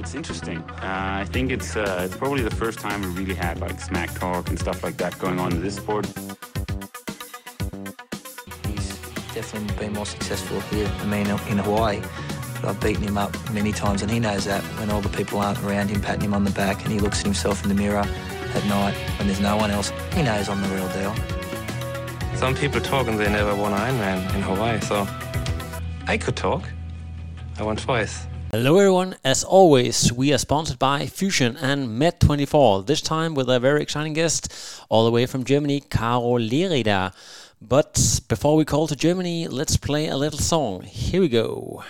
it's interesting. I think it's probably the first time we really had like smack talk and stuff like that going on in this sport. He's definitely been more successful here than me in Hawaii. But I've beaten him up many times, and he knows that when all the people aren't around him patting him on the back and he looks at himself in the mirror at night when there's no one else, he knows I'm the real deal. Some people talk and they never won Ironman in Hawaii, so I could talk. I won twice. Hello everyone, as always we are sponsored by Fusion and Med24, this time with a very exciting guest all the way from Germany, Caro Lerida. But before we call to Germany, let's play a little song. Here we go.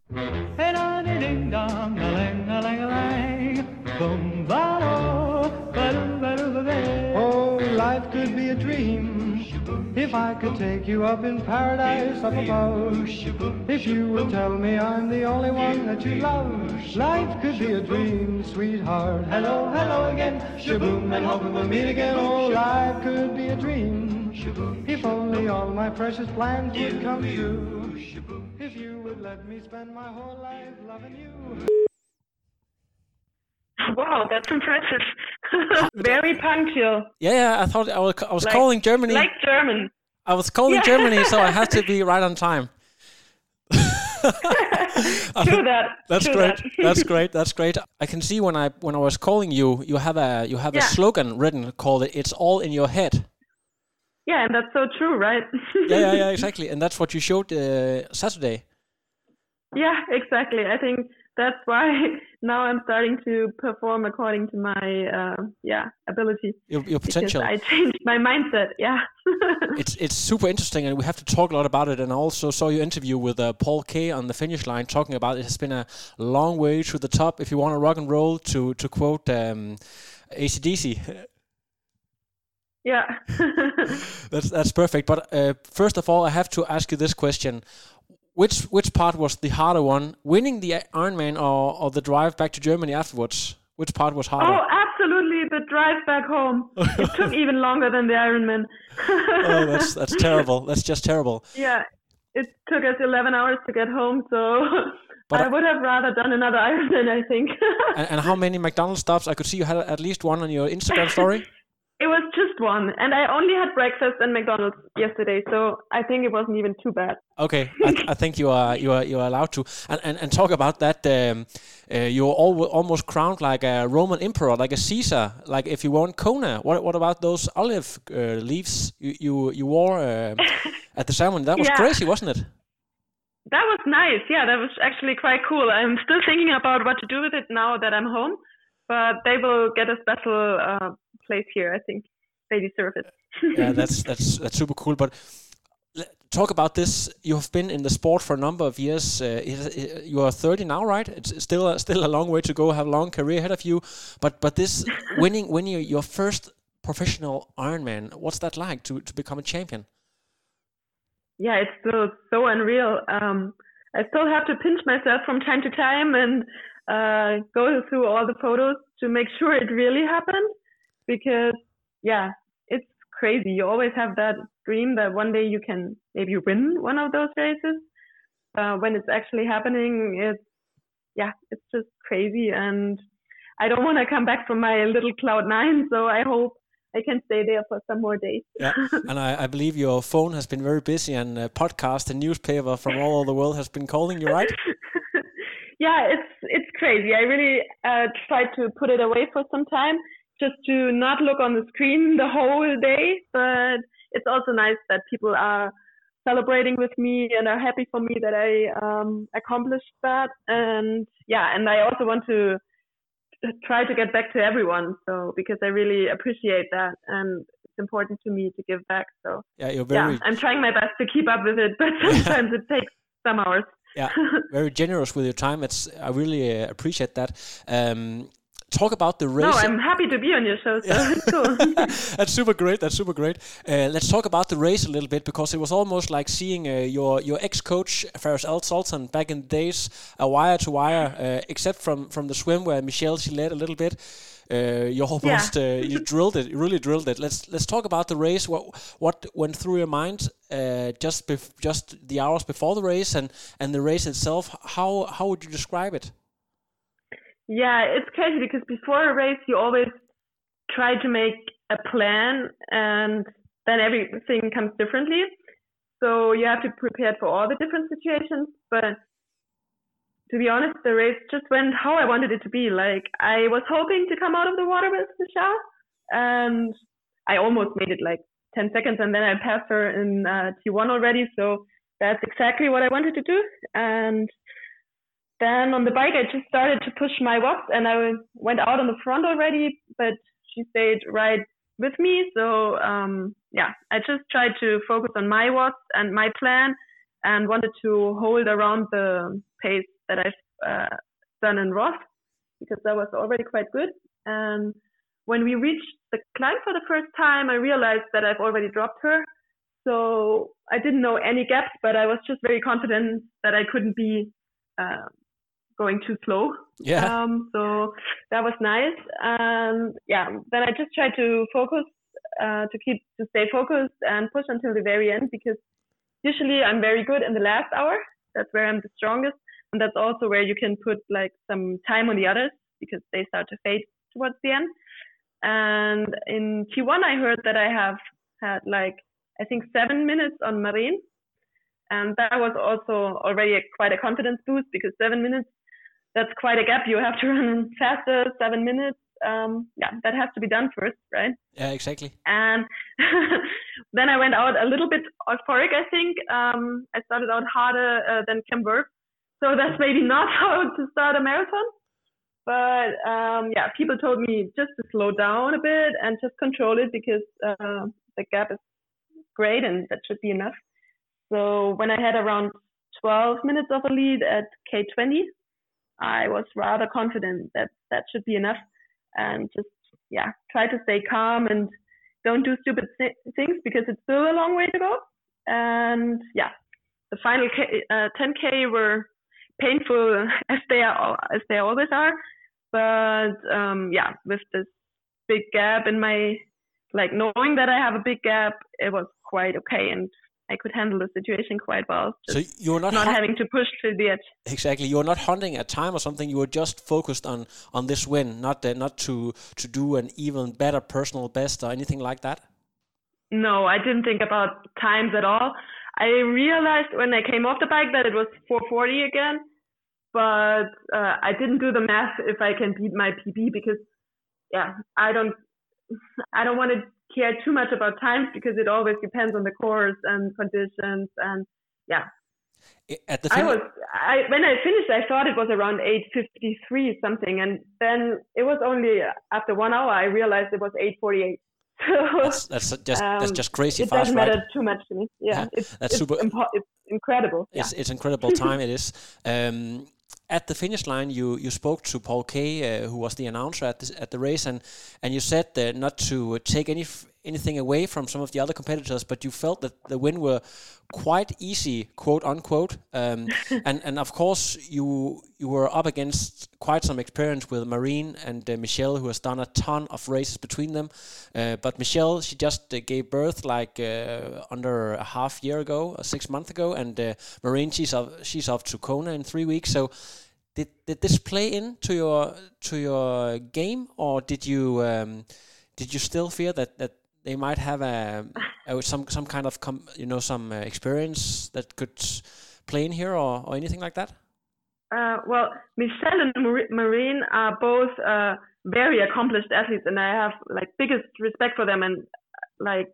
Oh, life could be a dream if I could take you up in paradise up above. If you would tell me I'm the only one that you love. Life could be a dream, sweetheart. Hello, hello again. Shaboom, and hoping we'll meet again. Oh, life could be a dream if only all my precious plans would come true. If you would let me spend my whole life loving you. Wow, that's impressive. Very punctual. Yeah, I thought I was calling Germany. Like German. I was calling Germany, so I had to be right on time. True that. That's great. That's great. That's great. I can see when I was calling you, you have a slogan written called "It's all in your head." Yeah, and that's so true, right? yeah, exactly. And that's what you showed Saturday. Yeah, exactly. I think that's why now I'm starting to perform according to my ability. Your potential. Because I changed my mindset. Yeah. It's super interesting, and we have to talk a lot about it. And I also saw your interview with Paul Kay on the finish line, talking about it has been a long way to the top. If you want to rock and roll, to quote AC/DC. Yeah. that's perfect. But first of all, I have to ask you this question. Which part was the harder one? Winning the Ironman or the drive back to Germany afterwards? Which part was harder? Oh, absolutely. The drive back home. It took even longer than the Ironman. Oh, that's terrible. That's just terrible. Yeah. It took us 11 hours to get home, so I would have rather done another Ironman, I think. and how many McDonald's stops? I could see you had at least one on your Instagram story. It was just one, and I only had breakfast and McDonald's yesterday, so I think it wasn't even too bad. Okay, I think you are allowed to, and talk about that. You're almost crowned like a Roman emperor, like a Caesar. Like if you won Kona, what about those olive leaves you wore at the ceremony? That was crazy, wasn't it? That was nice. Yeah, that was actually quite cool. I'm still thinking about what to do with it now that I'm home, but they will get a special place here. I think they deserve it. Yeah, that's super cool. But talk about this. You have been in the sport for a number of years. You are 30 now, right? It's still a long way to go. Have a long career ahead of you. But this winning your first professional Ironman, what's that like to become a champion? Yeah, it's still so unreal. I still have to pinch myself from time to time and go through all the photos to make sure it really happened. Because, yeah, it's crazy. You always have that dream that one day you can maybe win one of those races. When it's actually happening, it's just crazy. And I don't want to come back from my little cloud 9, so I hope I can stay there for some more days. Yeah, and I believe your phone has been very busy, and podcast and newspaper from all over the world has been calling you, right? Yeah, it's crazy. I really tried to put it away for some time, just to not look on the screen the whole day. But it's also nice that people are celebrating with me and are happy for me that I accomplished that. And I also want to try to get back to everyone. So because I really appreciate that, and it's important to me to give back. So I'm trying my best to keep up with it, but sometimes it takes some hours. Yeah, very generous with your time. I really appreciate that. Talk about the race. No, I'm happy to be on your show, so it's cool. That's super great. Let's talk about the race a little bit, because it was almost like seeing your ex-coach, Faris Al-Sultan, back in the days, a wire to wire, except from the swim where Michelle, she led a little bit. You almost you drilled it. You really drilled it. Let's talk about the race. What went through your mind just the hours before the race and the race itself? How would you describe it? Yeah, it's crazy because before a race, you always try to make a plan and then everything comes differently. So you have to prepare for all the different situations. But to be honest, the race just went how I wanted it to be. Like, I was hoping to come out of the water with Michelle, and I almost made it like 10 seconds, and then I passed her in T1 already. So that's exactly what I wanted to do. And then on the bike, I just started to push my watts, and I went out on the front already, but she stayed right with me. So I just tried to focus on my watts and my plan, and wanted to hold around the pace that I've done in Roth, because that was already quite good. And when we reached the climb for the first time, I realized that I've already dropped her. So I didn't know any gaps, but I was just very confident that I couldn't be going too slow. Yeah. So that was nice. And then I just tried to focus, to stay focused and push until the very end, because usually I'm very good in the last hour. That's where I'm the strongest. And that's also where you can put like some time on the others, because they start to fade towards the end. And in T1, I heard that I have had like, I think 7 minutes on Marine. And that was also already quite a confidence boost, because 7 minutes, that's quite a gap. You have to run faster, 7 minutes. That has to be done first, right? Yeah, exactly. And then I went out a little bit euphoric, I think. I started out harder than Kim Burke. So that's maybe not how to start a marathon. But people told me just to slow down a bit and just control it, because the gap is great and that should be enough. So when I had around 12 minutes of a lead at K20, I was rather confident that that should be enough, and just try to stay calm and don't do stupid things, because it's still a long way to go. And the final 10K were painful as they always are, but with this big gap in my, like, knowing that I have a big gap, it was quite okay, and I could handle the situation quite well. So you're not having to push to the edge. Exactly. You're not hunting a time or something. You were just focused on this win, not to do an even better personal best or anything like that. No, I didn't think about times at all. I realized when I came off the bike that it was 4:40 again, but I didn't do the math if I can beat my PB, because I don't want to care too much about times, because it always depends on the course and conditions. And at the when I finished, I thought it was around 8:53 something, and then it was only after 1 hour I realized it was 8:48. So that's just crazy. It doesn't matter too much to me. It's super. It's incredible. It's incredible time. It is. At the finish line, you spoke to Paul Kay, who was the announcer at the race, and you said not to take anything away from some of the other competitors, but you felt that the win were quite easy, quote unquote. And of course, you were up against quite some experience with Marine and Michelle, who has done a ton of races between them. But Michelle, she just gave birth like under a half year ago, 6 months ago, and Marine, she's off to Kona in 3 weeks. So did this play into your game, or did you still fear that they might have some kind of some experience that could play in here, or anything like that? Well, Michelle and Marine are both very accomplished athletes, and I have like biggest respect for them, and like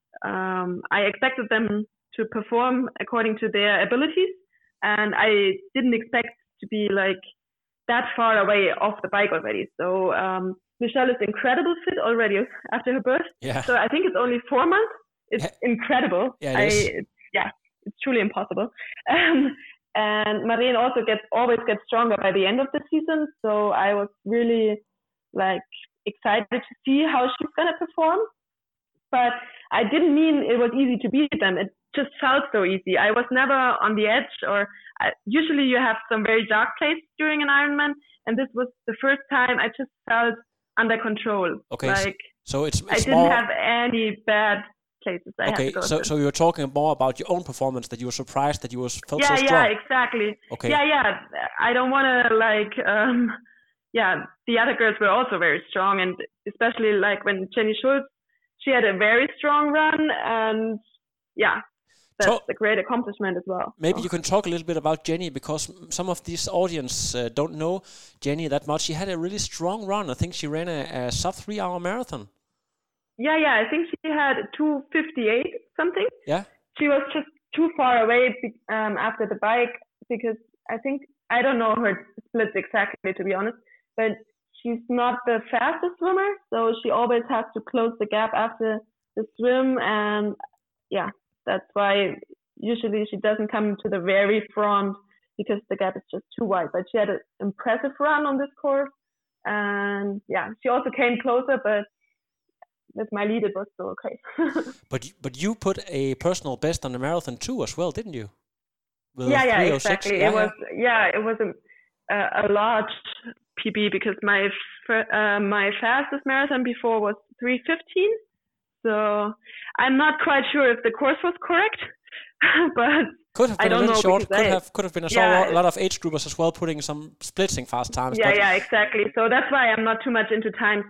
I expected them to perform according to their abilities, and I didn't expect to be like that far away off the bike already. So Michelle is incredible fit already after her birth. Yeah. So I think it's only 4 months. It's incredible. Yeah, it's truly impossible. And Marine also always gets stronger by the end of the season. So I was really like excited to see how she's gonna perform. But I didn't mean it was easy to beat them. It just felt so easy. I was never on the edge, or usually you have some very dark place during an Ironman, and this was the first time I just felt under control. Okay, like so it's I didn't have any bad places I had to go so you're talking more about your own performance, that you were surprised that you felt so strong. Yeah, exactly. Okay. Yeah, I don't want to like the other girls were also very strong, and especially like when Jenny Schultz, she had a very strong run, and that's a great accomplishment as well. Maybe you can talk a little bit about Jenny, because some of this audience don't know Jenny that much. She had a really strong run. I think she ran a sub 3 hour marathon. Yeah, I think she had 2:58 something. Yeah. She was just too far away after the bike, because I don't know her splits exactly, to be honest, but she's not the fastest swimmer, so she always has to close the gap after the swim, and that's why usually she doesn't come to the very front because the gap is just too wide. But she had an impressive run on this course, and she also came closer, but with my lead it was still okay. But you put a personal best on the marathon too as well, didn't you? With Exactly. It was a large PB, because my fastest marathon before was 3:15. So I'm not quite sure if the course was correct, but could have been a little short. Could have been a lot of age groupers as well putting some splitting fast times. Exactly. So that's why I'm not too much into times.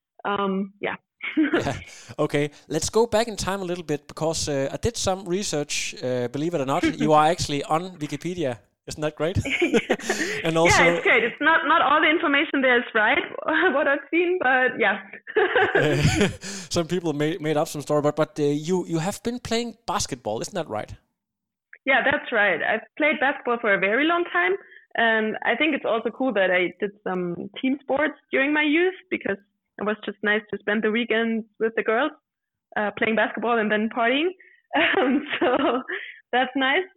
Okay, let's go back in time a little bit, because I did some research. Believe it or not, you are actually on Wikipedia. Isn't that great? And also, it's great. It's not all the information there is right, what I've seen, but some people made up some story, but you have been playing basketball, isn't that right? Yeah, that's right. I've played basketball for a very long time, and I think it's also cool that I did some team sports during my youth, because it was just nice to spend the weekends with the girls playing basketball and then partying. So that's nice.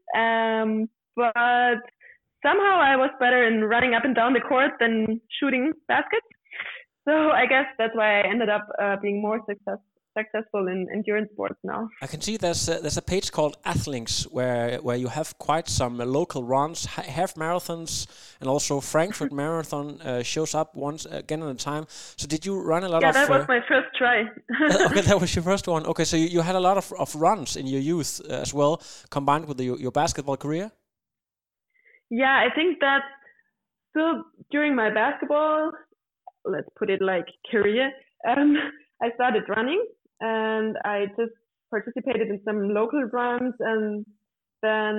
But somehow I was better in running up and down the court than shooting baskets. So I guess that's why I ended up being more successful in endurance sports now. I can see there's a page called Athlinks where you have quite some local runs, half marathons, and also Frankfurt Marathon shows up once again at a time. So did you run a lot of... Yeah, that was my first try. Okay, that was your first one. Okay, so you had a lot of runs in your youth as well, combined with your basketball career? Yeah, I think that still during my basketball, let's put it like career, I started running, and I just participated in some local runs, and then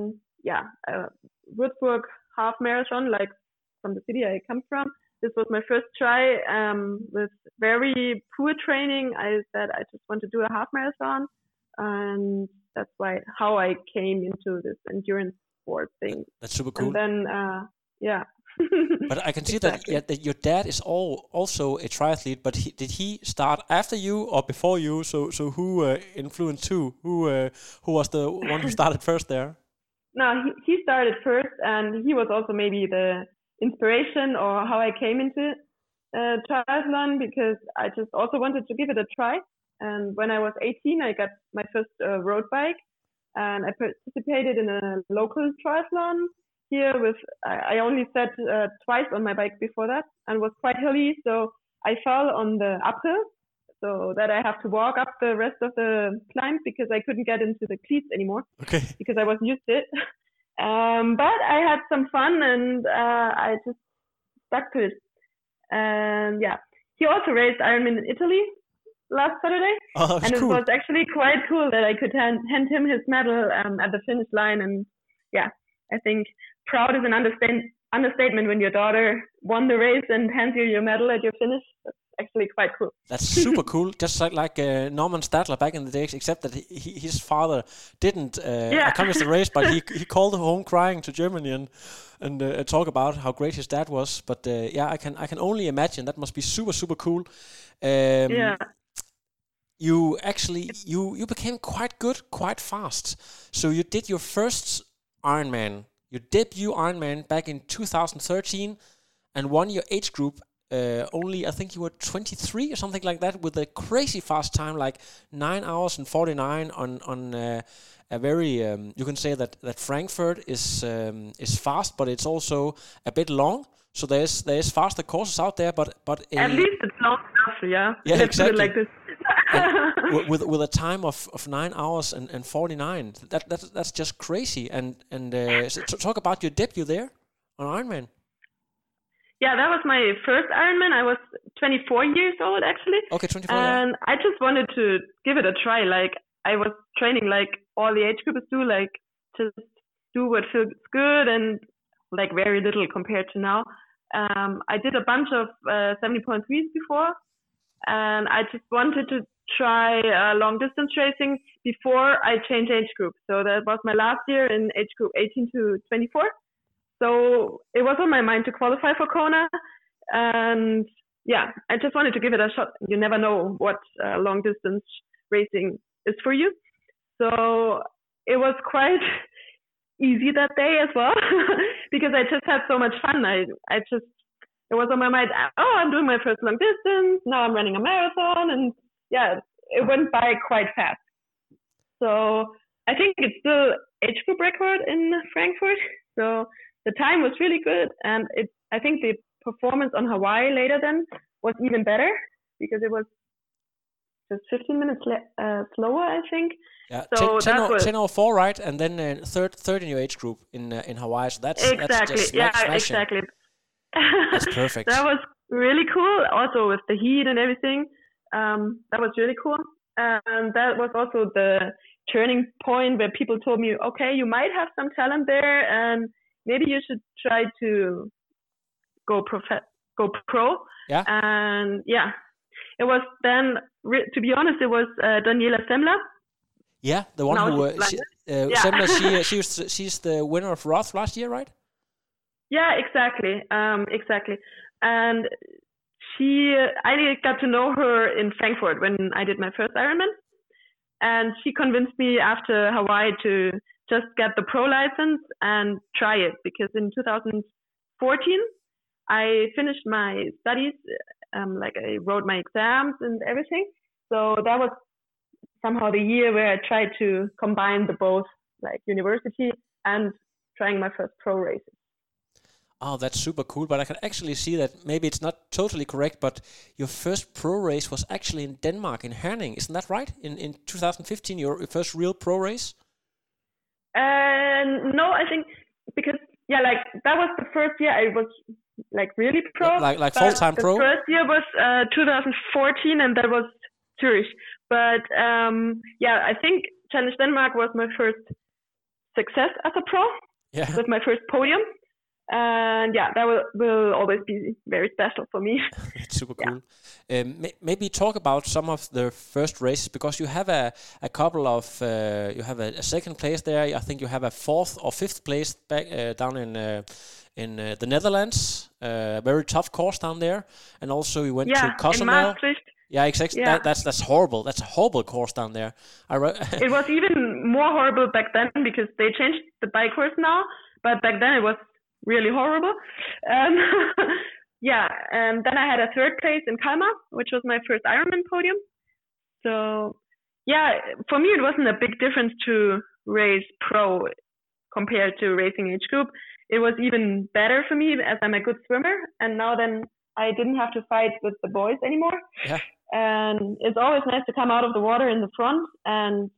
Würzburg half marathon, like from the city I come from. This was my first try. With very poor training, I said I just want to do a half marathon, and that's how I came into this endurance sport thing. That's super cool. And then But I can see that your dad is also a triathlete, but did he start after you or before you? So who influenced who? Who was the one who started first there? No, he started first, and he was also maybe the inspiration or how I came into triathlon, because I just also wanted to give it a try. And when I was 18, I got my first road bike, and I participated in a local triathlon here I only sat twice on my bike before that, and was quite hilly, so I fell on the uphill, so that I have to walk up the rest of the climb, because I couldn't get into the cleats anymore, because I wasn't used to it. But I had some fun, and I just stuck to it. And he also raced Ironman in Italy last Saturday, and it was actually quite cool that I could hand him his medal at the finish line. And I think proud is an understatement when your daughter won the race and hands you your medal at your finish. That's actually quite cool. That's super cool. Just like Norman Stadler back in the days, except that his father didn't accomplish the race, but he called home crying to Germany and talk about how great his dad was. But I can only imagine that must be super, super cool. You actually you became quite good quite fast. So you did your first Ironman, your debut Ironman back in 2013, and won your age group. Only I think you were 23 or something like that, with a crazy fast time, like 9 hours and 49 on a very you can say that Frankfurt is fast, but it's also a bit long. So there's faster courses out there, but at least it's long enough, yeah. Let's Exactly. put it like this. with a time of 9 hours and 49, that's just crazy. And so talk about your debut there on Ironman. Yeah, that was my first Ironman. I was 24 years old actually. Okay, 24. And I just wanted to give it a try. Like I was training like all the age groupers do, like just do what feels good and like very little compared to now. I did a bunch of 70.3s before, and I just wanted to try long distance racing before I changed age group. So that was my last year in age group 18 to 24. So it was on my mind to qualify for Kona, and yeah, I just wanted to give it a shot. You never know what long distance racing is for you. So it was quite easy that day as well because I just had so much fun. It was on my mind, oh, I'm doing my first long distance, now I'm running a marathon, and yeah, it went by quite fast. So I think it's still age group record in Frankfurt. So the time was really good, and I think the performance on Hawaii later then was even better because it was just 15 minutes slower, I think. Yeah, so 10:04, right? And then third in your age group in Hawaii. So that's just exactly. That's perfect. That was really cool. Also with the heat and everything, that was really cool. And that was also the turning point where people told me, okay, you might have some talent there, and maybe you should try to go pro. Yeah. And yeah, it was then. To be honest, it was Daniela Semler. Yeah, the one who Semler. She's the winner of Roth last year, right? Yeah, exactly. And I got to know her in Frankfurt when I did my first Ironman. And she convinced me after Hawaii to just get the pro license and try it. Because in 2014, I finished my studies, I wrote my exams and everything. So that was somehow the year where I tried to combine the both, like university and trying my first pro races. Oh, that's super cool. But I can actually see that maybe it's not totally correct, but your first pro race was actually in Denmark, in Herning. Isn't that right? In 2015, your first real pro race? No, I think because, that was the first year I was really pro. Like full-time pro? The first year was 2014, and that was Zurich. But I think Challenge Denmark was my first success as a pro. Yeah. With my first podium. And that will always be very special for me. It's super cool. Maybe talk about some of the first races, because you have a couple of you have a second place there. I think you have a fourth or fifth place back down in the Netherlands. Very tough course down there, and also you went to Cozumel. Yeah, exactly. Yeah. That's horrible. That's a horrible course down there. It was even more horrible back then because they changed the bike course now, but back then it was really horrible. And then I had a third place in Kalmar, which was my first Ironman podium. So for me it wasn't a big difference to race pro compared to racing age group. It was even better for me as I'm a good swimmer, and now then I didn't have to fight with the boys anymore. Yeah. And it's always nice to come out of the water in the front and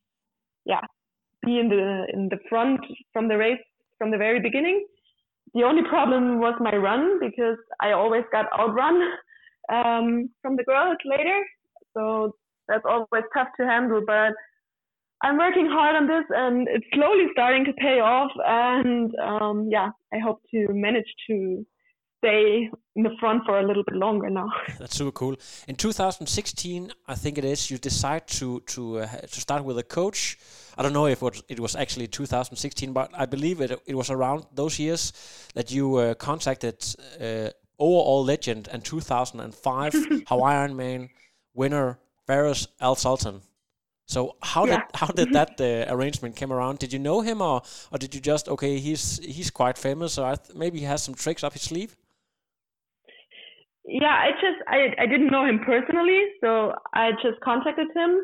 be in the front from the race from the very beginning. The only problem was my run, because I always got outrun from the girls later. So that's always tough to handle. But I'm working hard on this, and it's slowly starting to pay off. And I hope to manage to stay in the front for a little bit longer now. That's super cool. In 2016, I think it is, you decide to start with a coach. I don't know if it was actually 2016, but I believe it was around those years that you contacted overall legend and 2005 Hawaii Ironman winner Fares Al-Sultan. So how did that arrangement come around? Did you know him, or did you just he's quite famous, so maybe he has some tricks up his sleeve? Yeah, I didn't know him personally, so I just contacted him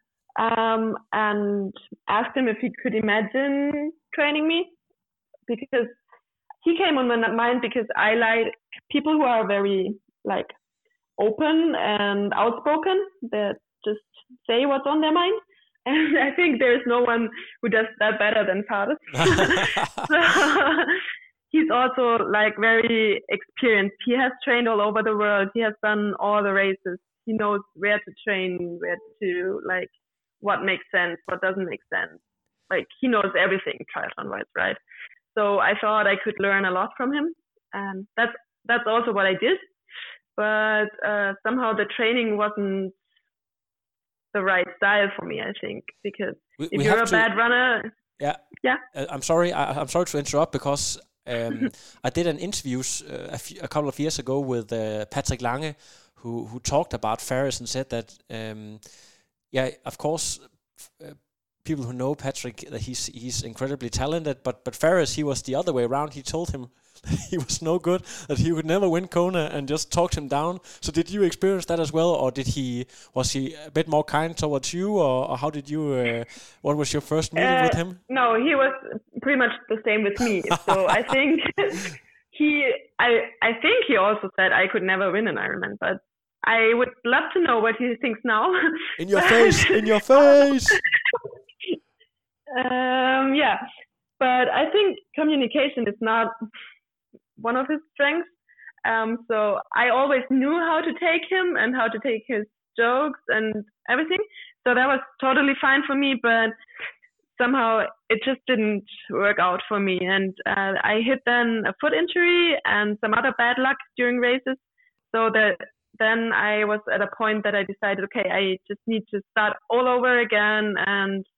and asked him if he could imagine training me, because he came on my mind because I like people who are very open and outspoken, that just say what's on their mind. And I think there's no one who does that better than Fares. he's also like very experienced. He has trained all over the world. He has done all the races. He knows where to train, where to like what makes sense, what doesn't make sense. Like he knows everything triathlon-wise, right? So I thought I could learn a lot from him, and that's also what I did. But somehow the training wasn't the right style for me, I think, because if you're a bad runner, yeah. I'm sorry. I'm sorry to interrupt because I did an interview a couple of years ago with Patrick Lange, who talked about Faris and said that, of course, people who know Patrick, that he's incredibly talented, but Faris, he was the other way around. He told him that he was no good, that he would never win Kona, and just talked him down. So did you experience that as well, or was he a bit more kind towards you, or how did you? What was your first meeting with him? No, he was pretty much the same with me. So I think I think he also said I could never win an Ironman, but I would love to know what he thinks now. In your face, in your face. Yeah, but I think communication is not one of his strengths. So I always knew how to take him and how to take his jokes and everything. So that was totally fine for me, but somehow it just didn't work out for me. And I hit then a foot injury and some other bad luck during races. So that then I was at a point that I decided, okay, I just need to start all over again. And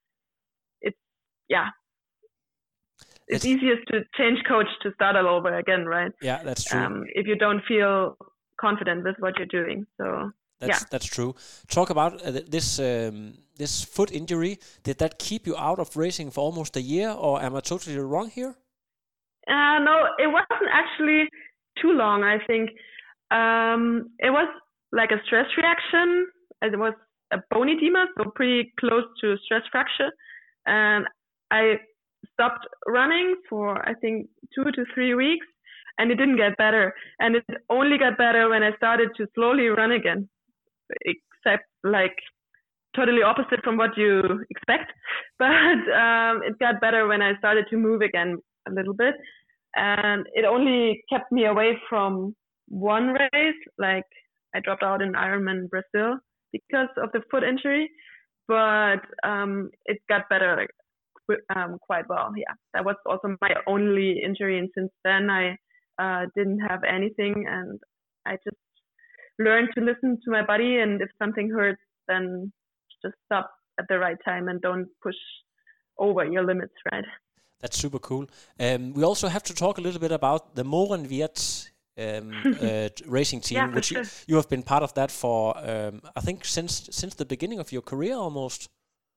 it's easiest to change coach to start all over again, right? Yeah, that's true. If you don't feel confident with what you're doing, so that's true. Talk about this foot injury. Did that keep you out of racing for almost a year, or am I totally wrong here? No, it wasn't actually too long. I think it was like a stress reaction. It was a bone edema, so pretty close to stress fracture, and I stopped running for, I think, 2 to 3 weeks, and it didn't get better. And it only got better when I started to slowly run again, except like totally opposite from what you expect. But it got better when I started to move again a little bit. And it only kept me away from one race. Like I dropped out in Ironman Brazil because of the foot injury, but it got better quite well. Yeah, that was also my only injury, and since then I didn't have anything, and I just learned to listen to my body, and if something hurts, then just stop at the right time and don't push over your limits, right? That's super cool. We also have to talk a little bit about the Morenwirt racing team, which you have been part of that for I think since the beginning of your career almost.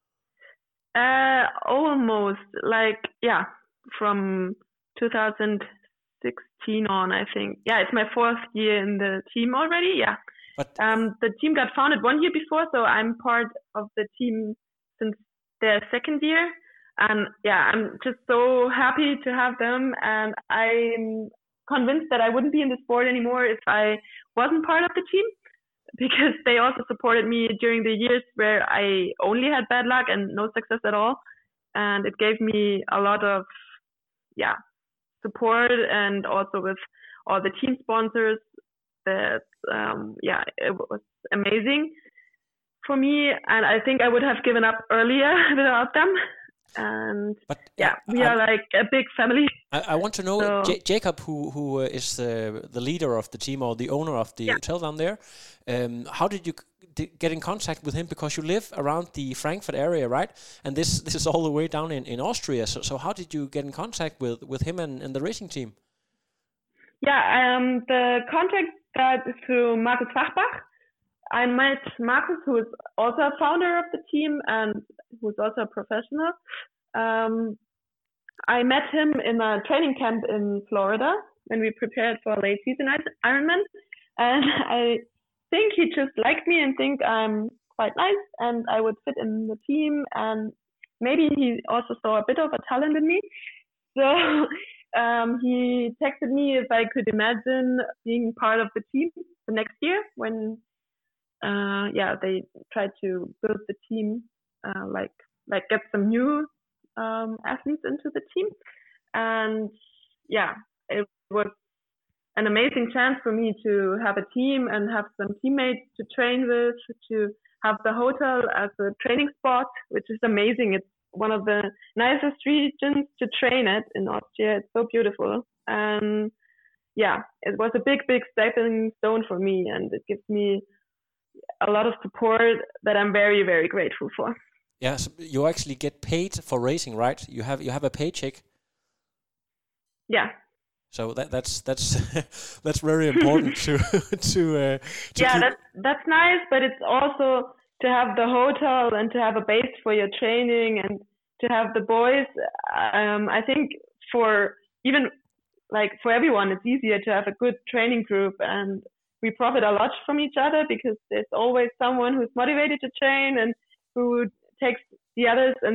Almost, like, from 2016 on, I think. Yeah, it's my 4th year in the team already, yeah. But the team got founded 1 year before, so I'm part of the team since their 2nd year. And yeah, I'm just so happy to have them, and I'm convinced that I wouldn't be in the sport anymore if I wasn't part of the team, because they also supported me during the years where I only had bad luck and no success at all. And it gave me a lot of, support, and also with all the team sponsors that, it was amazing for me. And I think I would have given up earlier without them. And we are like a big family. I want to know, Jacob, who is the leader of the team or the owner of the hotel down there, how did you get in contact with him? Because you live around the Frankfurt area, right? And this is all the way down in Austria. So how did you get in contact with him and the racing team? The contact got through Markus Fachbach. I met Markus, who is also a founder of the team and who's also a professional. I met him in a training camp in Florida when we prepared for a late season Ironman. And I think he just liked me and think I'm quite nice and I would fit in the team. And maybe he also saw a bit of a talent in me. So he texted me if I could imagine being part of the team the next year when they tried to build the team, like get some new athletes into the team. And it was an amazing chance for me to have a team and have some teammates to train with, to have the hotel as a training spot, which is amazing. It's one of the nicest regions to train at in Austria. It's so beautiful. And yeah, it was a big stepping stone for me, and it gives me a lot of support that I'm very, very grateful for. Yeah, so you actually get paid for racing, right? You have a paycheck. Yeah. So that's that's very important to yeah, keep... that's nice, but it's also to have the hotel and to have a base for your training and to have the boys. I think for even like for everyone, it's easier to have a good training group, and we profit a lot from each other because there's always someone who's motivated to train and who takes the others and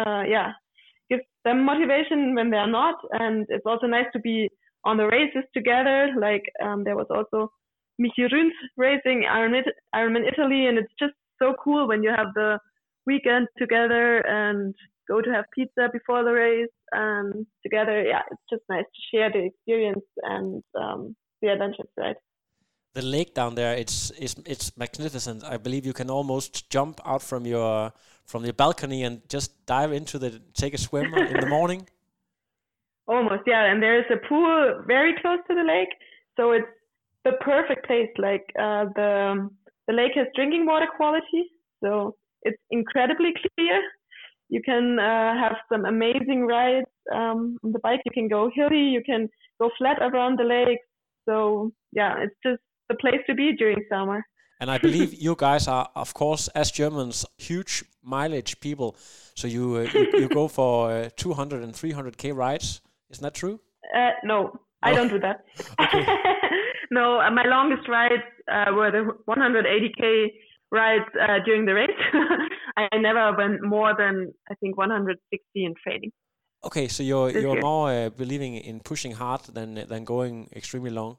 gives them motivation when they're not. And it's also nice to be on the races together. Like there was also Michi Rüns racing Ironman Italy, and it's just so cool when you have the weekend together and go to have pizza before the race and together. Yeah, it's just nice to share the experience and the adventures, right? The lake down there, it's magnificent. I believe you can almost jump out from your balcony and just dive into take a swim in the morning. Almost, yeah. And there is a pool very close to the lake, so it's the perfect place. Like the lake has drinking water quality, so it's incredibly clear. You can have some amazing rides on the bike. You can go hilly, you can go flat around the lake. So yeah, it's just the place to be during summer. And I believe you guys are, of course, as Germans, huge mileage people. So you go for 200 and 300k rides. Isn't that true? No, I don't do that. Okay. No, my longest rides were the 180k rides during the race. I never went more than, I think, 160 in training. Okay, so you're more believing in pushing hard than going extremely long.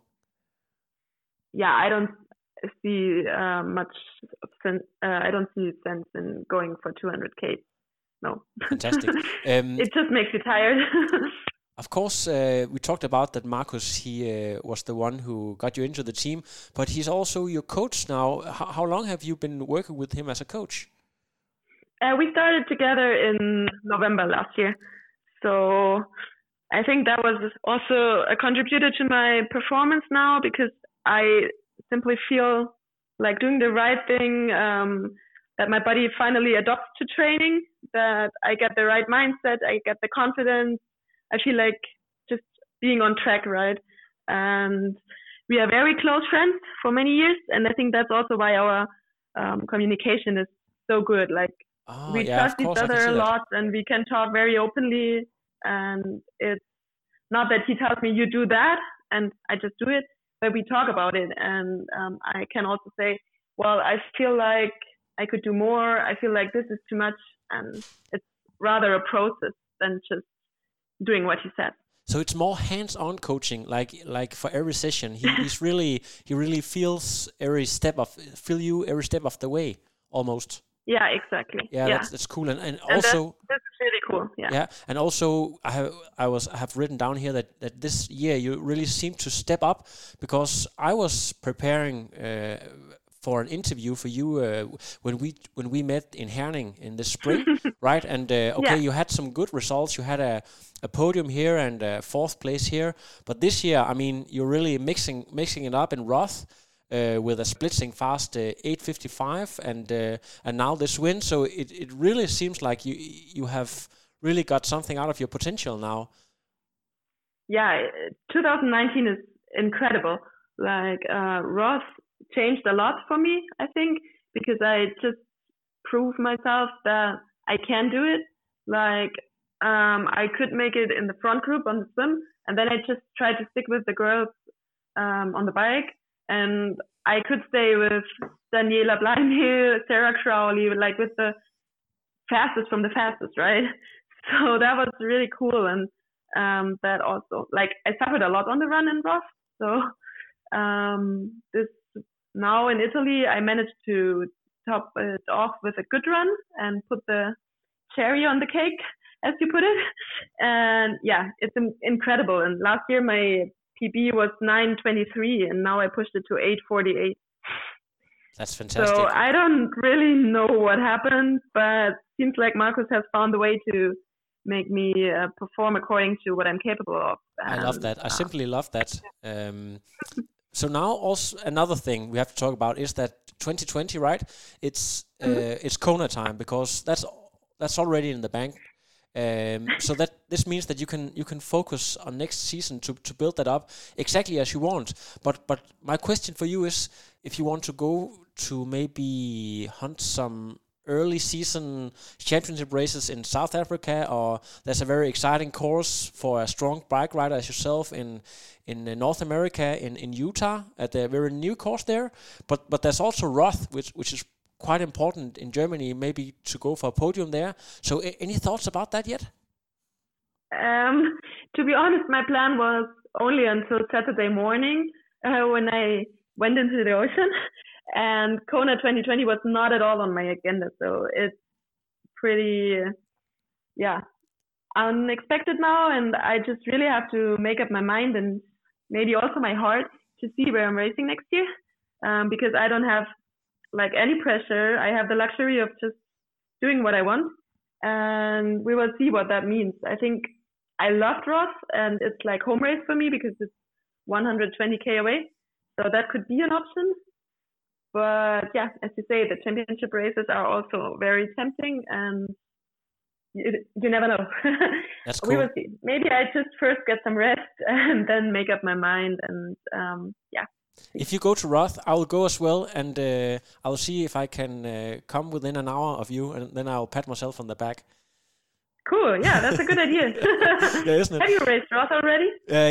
Yeah, I don't see much sense. I don't see sense in going for 200k. No. Fantastic. It just makes you tired. Of course, we talked about that Marcus, he was the one who got you into the team, but he's also your coach now. How long have you been working with him as a coach? We started together in November last year. So I think that was also a contributor to my performance now, because I simply feel like doing the right thing, that my body finally adopts to training, that I get the right mindset, I get the confidence. I feel like just being on track, right? And we are very close friends for many years, and I think that's also why our communication is so good. Like we trust each other a lot, and we can talk very openly. And it's not that he tells me you do that, and I just do it, but we talk about it. And I can also say, well, I feel like I could do more. I feel like this is too much, and it's rather a process than just doing what he said. So it's more hands-on coaching, like for every session. He really feels every step you every step of the way, almost. Yeah, exactly. Yeah, that's cool, and also that's really cool. Yeah, and also I have written down here that this year you really seem to step up, because I was preparing for an interview for you when we met in Herning in the spring, right? And you had some good results. You had a podium here and a 4th place here. But this year, I mean, you're really mixing it up in Roth with a splitting fast 8:55 and now this win. So it really seems like you have really got something out of your potential now. Yeah, 2019 is incredible. Like Roth changed a lot for me, I think, because I just proved myself that I can do it. Like I could make it in the front group on the swim, and then I just tried to stick with the girls on the bike, and I could stay with Daniela Bleinhill, Sarah Crowley, like with the fastest from the fastest, right? So that was really cool, and that also, like, I suffered a lot on the run in Roth. So this now in Italy, I managed to top it off with a good run and put the cherry on the cake as you put it. And yeah, it's incredible. And last year my PB was 9:23, and now I pushed it to 8:48. That's fantastic. So I don't really know what happened, but seems like Marcus has found a way to make me perform according to what I'm capable of. I love that. I simply love that. So now also another thing we have to talk about is that 2020, right? It's Kona time, because that's already in the bank. So that this means that you can focus on next season to build that up exactly as you want. But my question for you is, if you want to go to maybe hunt some early season championship races in South Africa, or there's a very exciting course for a strong bike rider as yourself in North America, in Utah, at a very new course there. But there's also Roth, which is quite important in Germany, maybe to go for a podium there. So any thoughts about that yet? To be honest, my plan was only until Saturday morning when I went into the ocean. And Kona 2020 was not at all on my agenda. So it's pretty, unexpected now. And I just really have to make up my mind and maybe also my heart to see where I'm racing next year. Because I don't have like any pressure. I have the luxury of just doing what I want. And we will see what that means. I think I loved Roth, and it's like home race for me because it's 120k away. So that could be an option. But yeah, as you say, the championship races are also very tempting, and you never know. That's cool. We will see. Maybe I just first get some rest and then make up my mind. And if you go to Roth, I will go as well, and I will see if I can come within an hour of you, and then I'll pat myself on the back. Cool. Yeah, that's a good idea. Yeah, isn't it? Have you raced Roth already?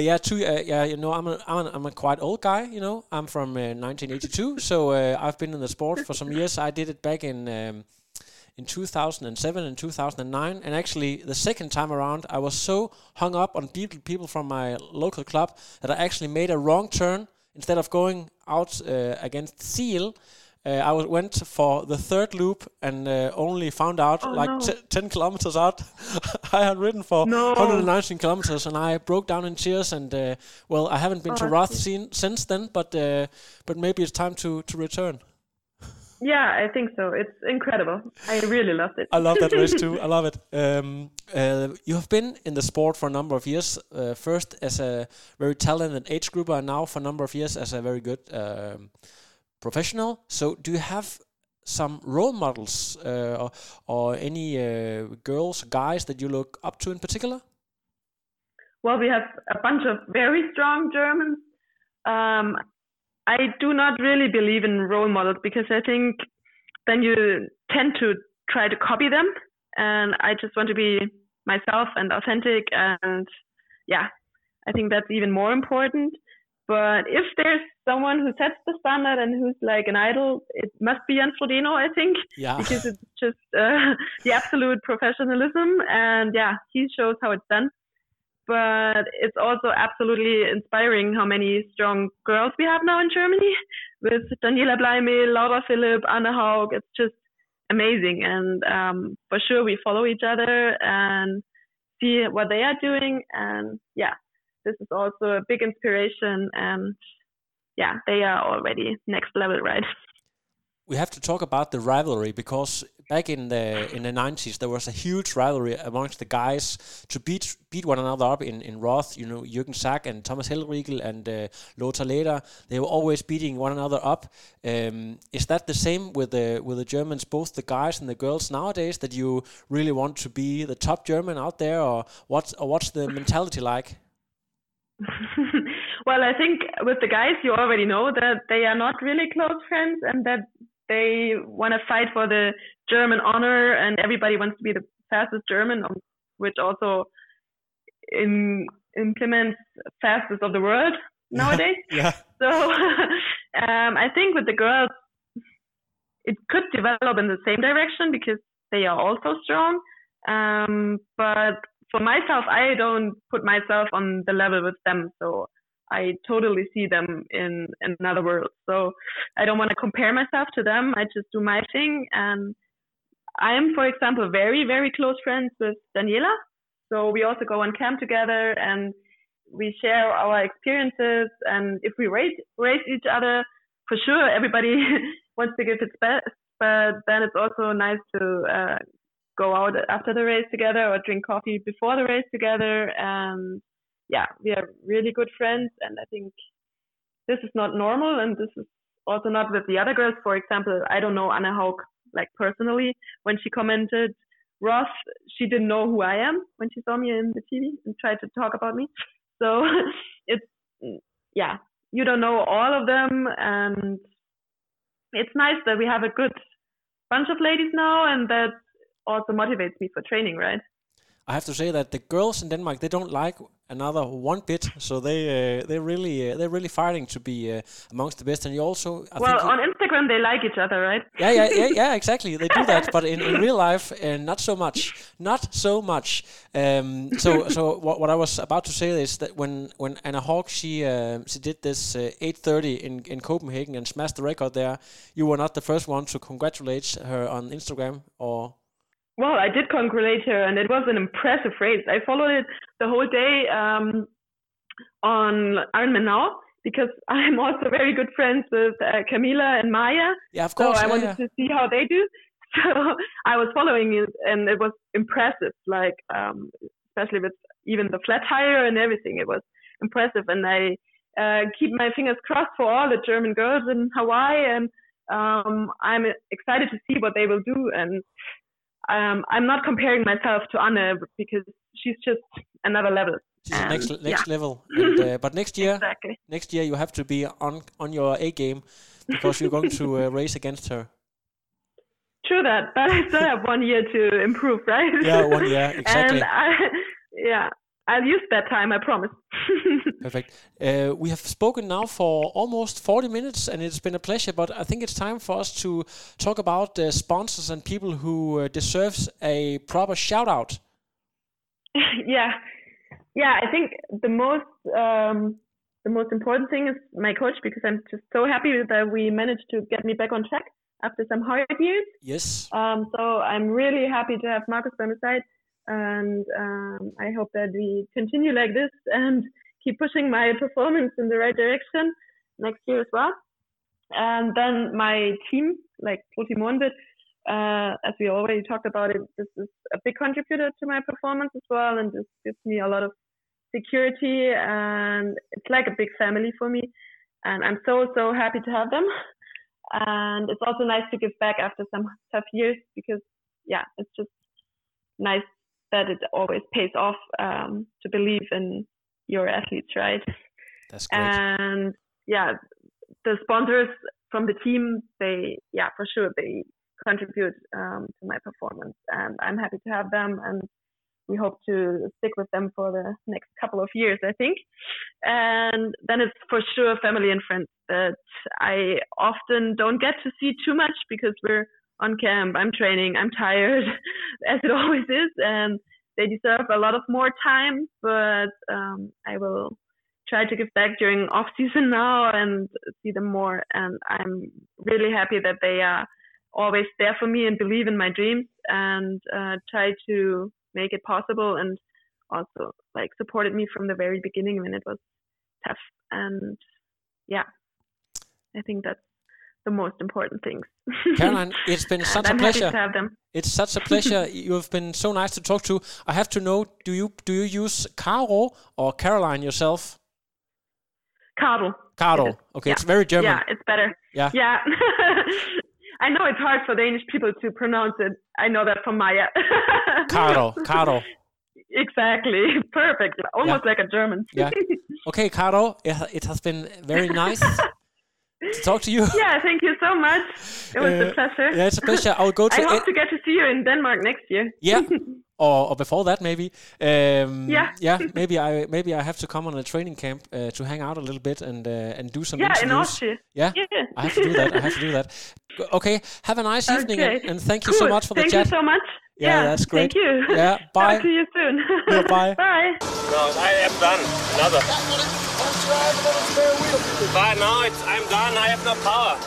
I'm a quite old guy. I'm from 1982, so I've been in the sport for some years. I did it back in 2007 and 2009, and actually the second time around, I was so hung up on people from my local club that I actually made a wrong turn. Instead of going out against Seal, I went for the third loop and only found out 10 kilometers out. I had ridden for 119 kilometers, and I broke down in tears. And I haven't been to Roth since then, but maybe it's time to return. Yeah, I think so. It's incredible. I really loved it. I love that race too. I love it. You have been in the sport for a number of years. First as a very talented age grouper, and now for a number of years as a very good professional. So do you have some role models or any girls, guys that you look up to in particular? Well, we have a bunch of very strong Germans. I do not really believe in role models because I think then you tend to try to copy them. And I just want to be myself and authentic. And yeah, I think that's even more important. But if there's someone who sets the standard and who's like an idol, it must be Jens Frodeno, I think. Yeah. Because it's just the absolute professionalism. And yeah, he shows how it's done. But it's also absolutely inspiring how many strong girls we have now in Germany with Daniela Bleimel, Laura Philipp, Anne Haug. It's just amazing. And for sure, we follow each other and see what they are doing. And yeah, this is also a big inspiration. And yeah, they are already next level, right? We have to talk about the rivalry, because back in the 90s there was a huge rivalry amongst the guys to beat one another up in Roth. Jürgen Sack and Thomas Hellriegel and Lothar Leder, they were always beating one another up. Is that the same with the Germans, both the guys and the girls nowadays, that you really want to be the top German out there, or what's the mentality like? Well, I think with the guys, you already know that they are not really close friends, and that they want to fight for the German honor, and everybody wants to be the fastest German, which also implements fastest of the world nowadays. Yeah. So I think with the girls, it could develop in the same direction because they are also strong. But for myself, I don't put myself on the level with them. So I totally see them in another world. So I don't want to compare myself to them. I just do my thing. And I am, for example, very, very close friends with Daniela. So we also go on camp together and we share our experiences. And if we race each other, for sure, everybody wants to give its best. But then it's also nice to go out after the race together or drink coffee before the race together. And yeah, we are really good friends. And I think this is not normal. And this is also not with the other girls. For example, I don't know Anna Haug like personally. When she commented Roth, she didn't know who I am when she saw me in the TV and tried to talk about me. So it's, yeah, you don't know all of them. And it's nice that we have a good bunch of ladies now, and that also motivates me for training, right? I have to say that the girls in Denmark, they don't like another one bit, so they're really fighting to be amongst the best. And you also, on Instagram they like each other, right? Yeah, exactly. They do that, but in real life, not so much. So what I was about to say is that when Anna Haug she did this 8:30 in Copenhagen and smashed the record there, you were not the first one to congratulate her on Instagram, or? Well, I did congratulate her, and it was an impressive race. I followed it the whole day on Ironman Now, because I'm also very good friends with Camila and Maya. Yeah, of course. So I wanted to see how they do. So I was following it, and it was impressive, like especially with even the flat tire and everything. It was impressive, and I keep my fingers crossed for all the German girls in Hawaii, and I'm excited to see what they will do. And I'm not comparing myself to Anne because she's just another level. She's next level. And, but next year, exactly. Next year you have to be on your A game because you're going to race against her. True that, but I still have 1 year to improve, right? Yeah, 1 year, exactly. And I'll use that time, I promise. Perfect. We have spoken now for almost 40 minutes, and it's been a pleasure, but I think it's time for us to talk about the sponsors and people who deserves a proper shout-out. Yeah, I think the most important thing is my coach, because I'm just so happy that we managed to get me back on track after some hard years. Yes. So I'm really happy to have Marcus by my side. And I hope that we continue like this and keep pushing my performance in the right direction next year as well. And then my team, like Proti Månbøl, as we already talked about it, this is a big contributor to my performance as well, and this gives me a lot of security, and it's like a big family for me. And I'm so happy to have them. And it's also nice to give back after some tough years, because it's just nice that it always pays off to believe in your athletes, right? That's great. And the sponsors from the team, they for sure they contribute to my performance, and I'm happy to have them, and we hope to stick with them for the next couple of years, I think. And then it's for sure family and friends that I often don't get to see too much because we're on camp, I'm training, I'm tired, as it always is, and they deserve a lot of more time, but I will try to give back during off season now and see them more. And I'm really happy that they are always there for me and believe in my dreams and try to make it possible, and also like supported me from the very beginning when it was tough. And I think that's the most important things. Caroline, it's been such a pleasure. Happy to have them. It's such a pleasure. You have been so nice to talk to. I have to know, do you use Caro or Caroline yourself? Caro. Okay, it's very German. Yeah, it's better. Yeah. I know it's hard for Danish people to pronounce it. I know that from Maya. Caro. Exactly. Perfect. Almost like a German. Yeah. Okay, Caro, it has been very nice to talk to you. Yeah, thank you so much. It was a pleasure. Yeah, it's a pleasure. I hope to get to see you in Denmark next year. Yeah, or before that maybe. Maybe I have to come on a training camp to hang out a little bit and do some interviews. In Austria. Yeah, I have to do that. Okay, have a nice evening, and thank you so much for the chat. Thank you so much. Yeah, that's great. Thank you. Yeah, bye. Talk to you soon. Yeah, bye. Bye. No, I am done. Another. But no, I'm done. I have no power.